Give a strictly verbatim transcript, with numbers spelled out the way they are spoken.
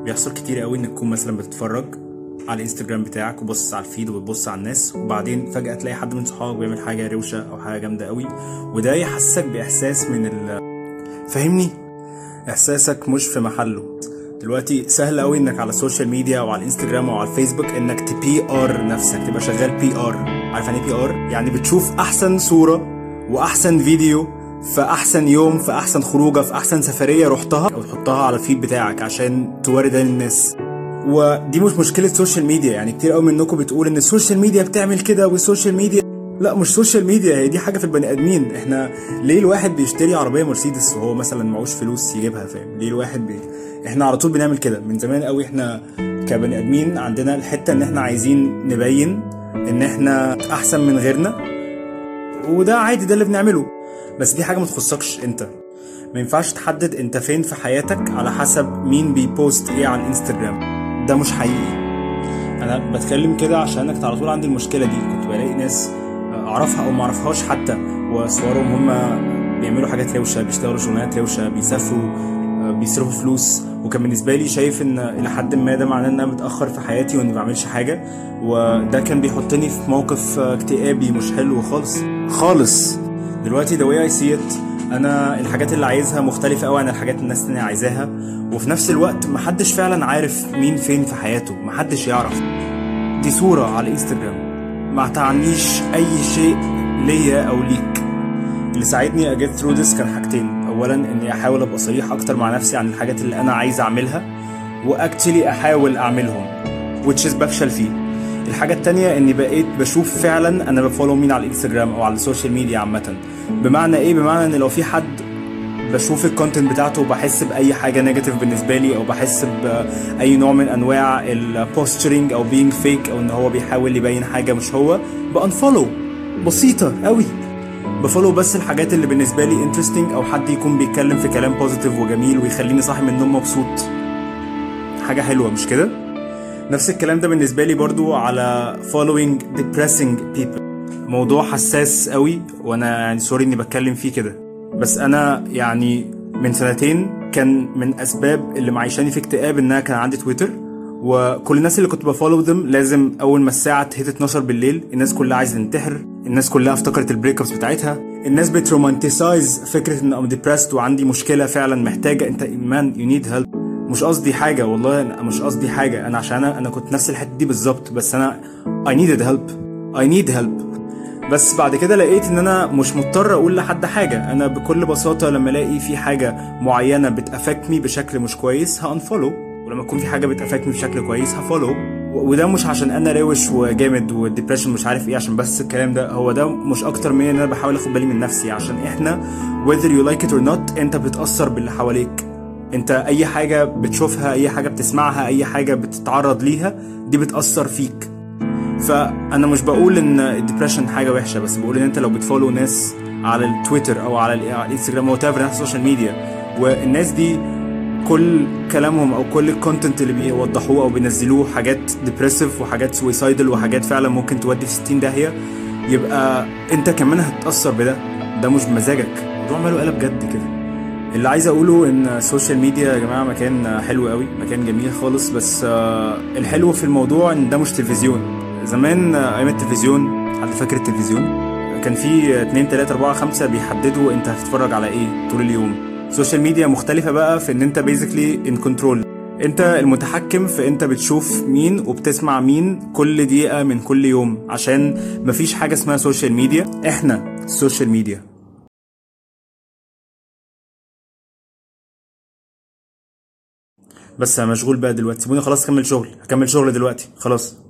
بيحصل كتير قوي انك تكون مثلا بتتفرج على الانستجرام بتاعك وبص على الفيد وبتبص على الناس، وبعدين فجأة تلاقي حد من صحابك بيعمل حاجة روشة او حاجة جامدة قوي، وده يحسسك باحساس من ال فاهمني؟ احساسك مش في محله. دلوقتي سهل قوي انك على السوشيال ميديا او على الانستجرام او على الفيسبوك انك تبي ار نفسك، تبقى شغال بي ار. عارف يعني بي ار؟ يعني بتشوف احسن صورة واحسن فيديو في احسن يوم في احسن خروجه في احسن سفريه رحتها، او تحطها على الفيد بتاعك عشان توري للناس. ودي مش مشكله سوشيال ميديا، يعني كتير قوي منكم بتقول ان السوشيال ميديا بتعمل كده والسوشيال ميديا، لا مش سوشيال ميديا، هي دي حاجه في البني ادمين. احنا ليه الواحد بيشتري عربيه مرسيدس وهو مثلا معوش فلوس يجيبها؟ فاهم ليه الواحد بي... احنا على طول بنعمل كده من زمان قوي. احنا كبني ادمين عندنا الحته ان احنا عايزين نبين ان احنا احسن من غيرنا، وده عادي، ده اللي بنعمله. بس دي حاجه ما تخصكش انت. ما ينفعش تحدد انت فين في حياتك على حسب مين بيبوست ايه على الانستجرام، ده مش حقيقي. انا بتكلم كده عشان انا على طول عندي المشكله دي. كنت بلاقي ناس اعرفها او ما اعرفهاش حتى، وصورهم هم بيعملوا حاجات روشه، بيشتغلوا شغلانات روشه، بيسافروا، بيصرفوا فلوس، وكان بالنسبه لي شايف ان الى حد ما ده معناه ان انا متاخر في حياتي واني ما بعملش حاجه، وده كان بيحطني في موقف اكتئابي مش حلو خالص خالص. دلوقتي the way I see it، انا الحاجات اللي عايزها مختلفه قوي عن الحاجات الناس التانية عايزاها، وفي نفس الوقت محدش فعلا عارف مين فين في حياته، محدش يعرف. دي صوره على الانستجرام، ما تعنيش اي شيء ليا او ليك. اللي ساعدني اجيت ثرو ذس كان حاجتين. اولا اني احاول ابقى صريح اكتر مع نفسي عن الحاجات اللي انا عايز اعملها، واكتلي احاول اعملهم which is بفشل فيه. الحاجه التانية اني بقيت بشوف فعلا انا بفولو مين على الانستجرام او على السوشيال ميديا عامه. بمعنى ايه؟ بمعنى ان لو في حد بشوف الكونتنت بتاعته وبحس باي حاجه نيجاتيف بالنسبه لي، او بحس باي نوع من انواع البوسترنج او بينج فيك، او ان هو بيحاول يبين حاجه مش هو، بانفولو. بسيطه قوي، بفولو بس الحاجات اللي بالنسبه لي انترستنج، او حد يكون بيتكلم في كلام بوزيتيف وجميل ويخليني صاحي من النوم مبسوط، حاجه حلوه مش كده؟ نفس الكلام ده بالنسبه لي برضو على following depressing people. موضوع حساس قوي، وانا يعني سوري اني بتكلم فيه كده، بس انا يعني من سنتين كان من اسباب اللي معيشاني في اكتئاب ان انا كان عندي تويتر، وكل الناس اللي كنت بفولو ذم لازم اول ما الساعه تهت اتناشر بالليل الناس كلها عايزه تنتحر، الناس كلها افتكرت البريك ابس بتاعتها، الناس بترومانتسايز فكره ان ام ديبرست وعندي مشكله فعلا محتاجه انت مان يو نيد هيلب. مش قصدي حاجه والله، أنا مش قصدي حاجه، انا عشان انا, أنا كنت نفس الحته دي بالظبط، بس انا I needed help I need help. بس بعد كده لقيت ان انا مش مضطر اقول لحد حاجه. انا بكل بساطه لما الاقي في حاجه معينه بتافكتني بشكل مش كويس هانفولو، ولما يكون في حاجه بتافكتني بشكل كويس هفولو. وده مش عشان انا روش وجامد والديبريشن مش عارف ايه عشان بس الكلام ده، هو ده مش اكتر من ان انا بحاول اخد بالي من نفسي، عشان احنا whether you like it or not انت بتتاثر باللي حواليك. انت اي حاجه بتشوفها، اي حاجه بتسمعها، اي حاجه بتتعرض ليها، دي بتاثر فيك. فانا مش بقول ان الديبريشن حاجه وحشه، بس بقول ان انت لو بتفولو ناس على التويتر او على الانستجرام او تافر ناس السوشيال ميديا، والناس دي كل كلامهم او كل الكونتنت اللي بيوضحوه او بينزلوه حاجات ديبريسيف وحاجات سويسايدل وحاجات فعلا ممكن تودي في ستين داهيه، يبقى انت كمان هتتاثر بده، ده مش بمزاجك. الموضوع ماله قلب جد كده. اللي عايز اقوله ان السوشيال ميديا يا جماعه مكان حلو قوي، مكان جميل خالص، بس الحلو في الموضوع ان ده مش تلفزيون. زمان ايام التلفزيون، حد فاكر التلفزيون؟ كان في اتنين تلاتة اربعة خمسة بيحددوا انت هتتفرج على ايه طول اليوم. السوشيال ميديا مختلفة بقى في ان انت بيزيكلي ان كنترول، انت المتحكم في انت بتشوف مين وبتسمع مين كل دقيقة من كل يوم، عشان مفيش حاجة اسمها سوشيال ميديا، احنا السوشيال ميديا. بس انا مشغول بقى دلوقتي، سيبوني خلاص اكمل شغل، هكمل شغل دلوقتي خلاص.